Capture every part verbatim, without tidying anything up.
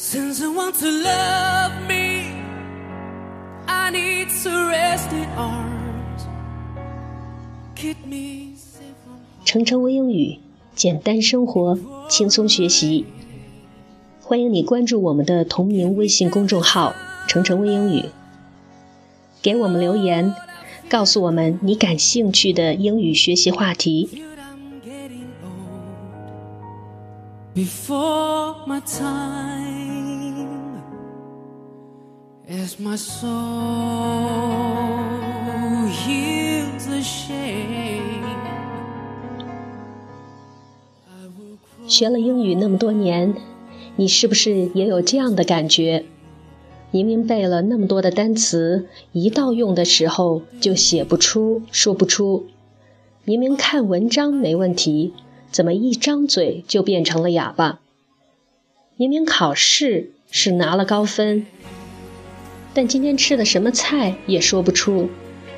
Since I want to love me, I need to rest in arms. Keep me safe from harm. 程程微英语，简单生活，轻松学习。欢迎你关注我们的同名微信公众号程程微英语，给我们留言，告诉我们你感兴趣的英语学习话题。 Before my time, as my soul heals the shame. 学了英语那么多年，你是不是也有这样的感觉？明明背了那么多的单词，一到用的时候就写不出，说不出。明明看文章没问题，怎么一张嘴就变成了哑巴？明明考试是拿了高分，但今天吃的什么菜也说不出。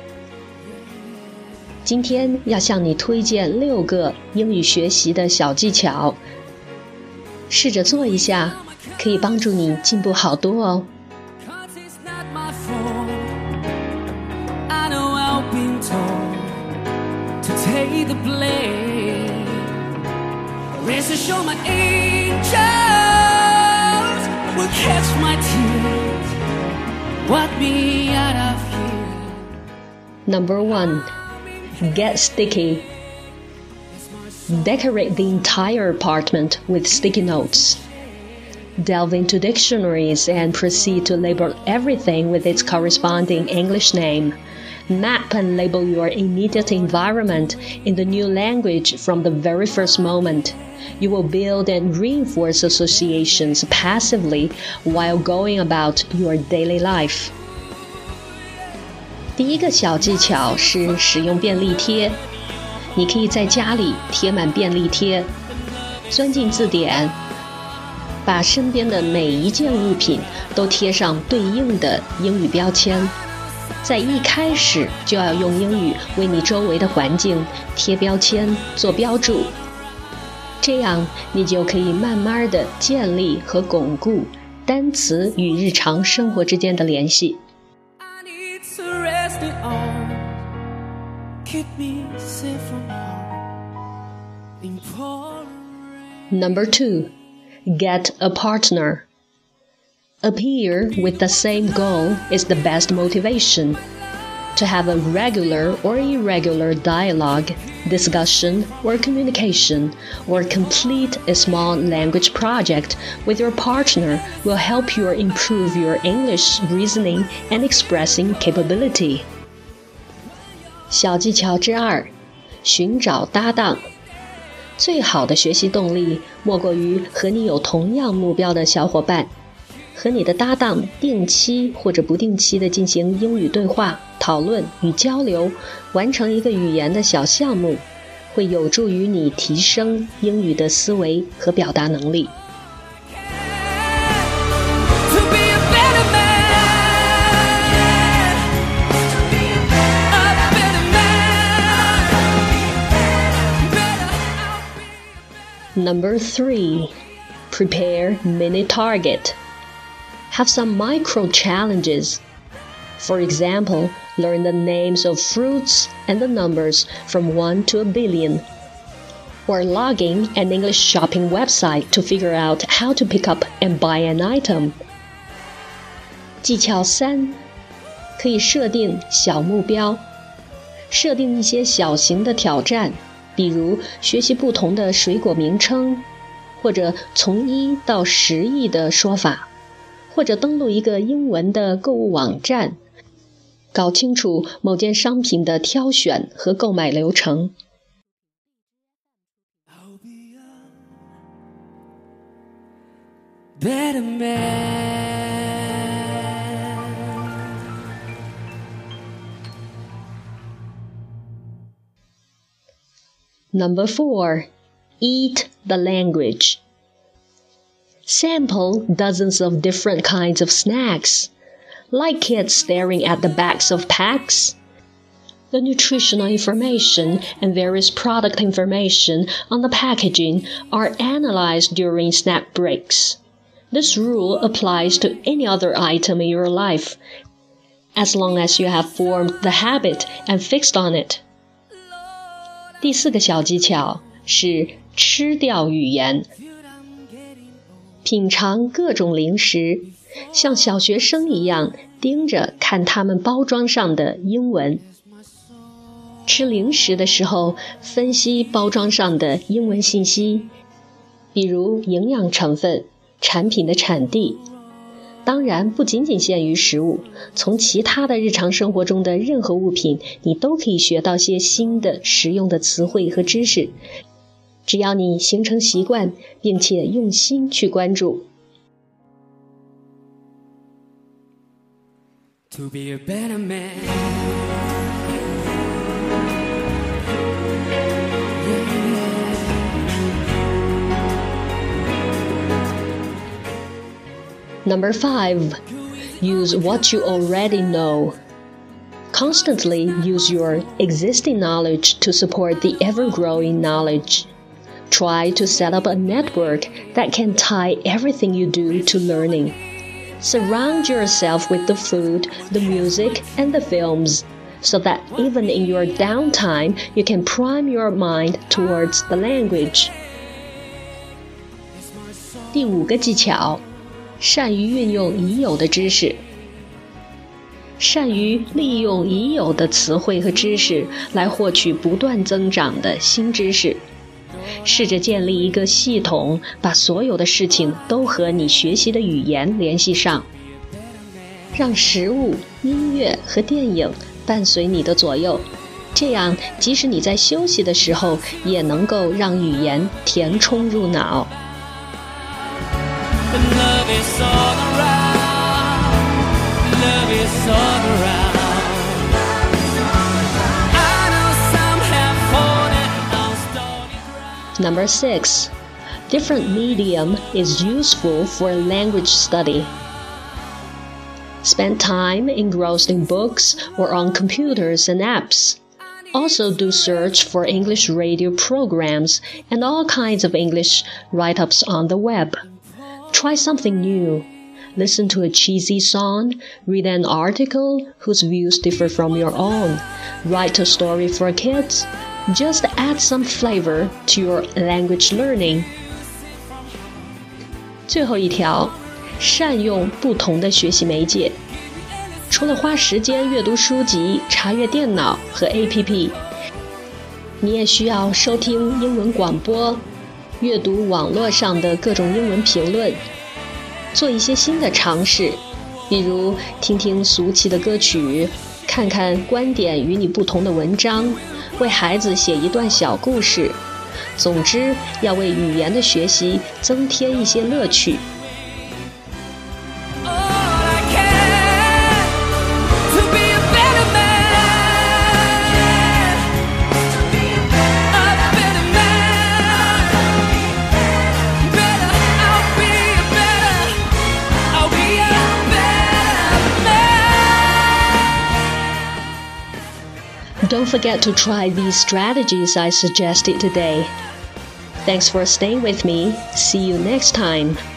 今天要向你推荐六个英语学习的小技巧，试着做一下，可以帮助你进步好多哦。 Take the blame. Rest assured my angels will catch my tears, wipe me out of here. Number one, get sticky. Decorate the entire apartment with sticky notes. Delve into dictionaries and proceed to label everything with its corresponding English name. Map and label your immediate environment in the new language from the very first moment. You will build and reinforce associations passively while going about your daily life. 第一个小技巧是使用便利贴。你可以在家里贴满便利贴，钻进字典，把身边的每一件物品都贴上对应的英语标签。在一开始就要用英语为你周围的环境贴标签做标注，这样你就可以慢慢地建立和巩固单词与日常生活之间的联系。Number two, get a partner. Appear with the same goal is the best motivation. To have a regular or irregular dialogue, discussion, or communication, or complete a small language project with your partner will help you improve your English reasoning and expressing capability. 小技巧之二，寻找搭档。最好的学习动力莫过于和你有同样目标的小伙伴。和你的搭档定期或者不定期地进行英语对话、讨论与交流，完成一个语言的小项目，会有助于你提升英语的思维和表达能力。Number three, prepare mini target.Have some micro challenges. For example, learn the names of fruits and the numbers from one to a billion. Or logging an English shopping website to figure out how to pick up and buy an item. 技巧三，可以设定小目标，设定一些小型的挑战，比如学习不同的水果名称，或者从一到十亿的说法。或者登录一个英文的购物网站，搞清楚某件商品的挑选和购买流程。 Better man. Number four, eat the language.Sample dozens of different kinds of snacks, like kids staring at the backs of packs. The nutritional information and various product information on the packaging are analyzed during snack breaks. This rule applies to any other item in your life, as long as you have formed the habit and fixed on it. 第四个小技巧是吃掉语言。品尝各种零食，像小学生一样盯着看他们包装上的英文。吃零食的时候，分析包装上的英文信息，比如营养成分、产品的产地。当然不仅仅限于食物，从其他的日常生活中的任何物品，你都可以学到些新的实用的词汇和知识，只要你形成习惯，并且用心去关注。 To be a better man. Number five, use what you already know. Constantly use your existing knowledge to support the ever-growing knowledge. Try to set up a network that can tie everything you do to learning. Surround yourself with the food, the music, and the films, so that even in your downtime, you can prime your mind towards the language. 第五个技巧，善于运用已有的知识。善于利用已有的词汇和知识来获取不断增长的新知识。试着建立一个系统，把所有的事情都和你学习的语言联系上。让食物、音乐和电影伴随你的左右，这样即使你在休息的时候，也能够让语言填充入脑。 Love is all around. Love is all around. I know some have fallen on stony ground. Number six, different medium is useful for language study. Spend time engrossed in books or on computers and apps. Also do search for English radio programs and all kinds of English write-ups on the web. Try something new. Listen to a cheesy song, read an article whose views differ from your own, write a story for kids. Just add some flavor to your language learning. 最后一条，善用不同的学习媒介。除了花时间阅读书籍、查阅电脑和 A P P， 你也需要收听英文广播，阅读网络上的各种英文评论，做一些新的尝试，比如听听俗气的歌曲，看看观点与你不同的文章，为孩子写一段小故事。总之，要为语言的学习增添一些乐趣。Don't forget to try these strategies I suggested today. Thanks for staying with me. See you next time.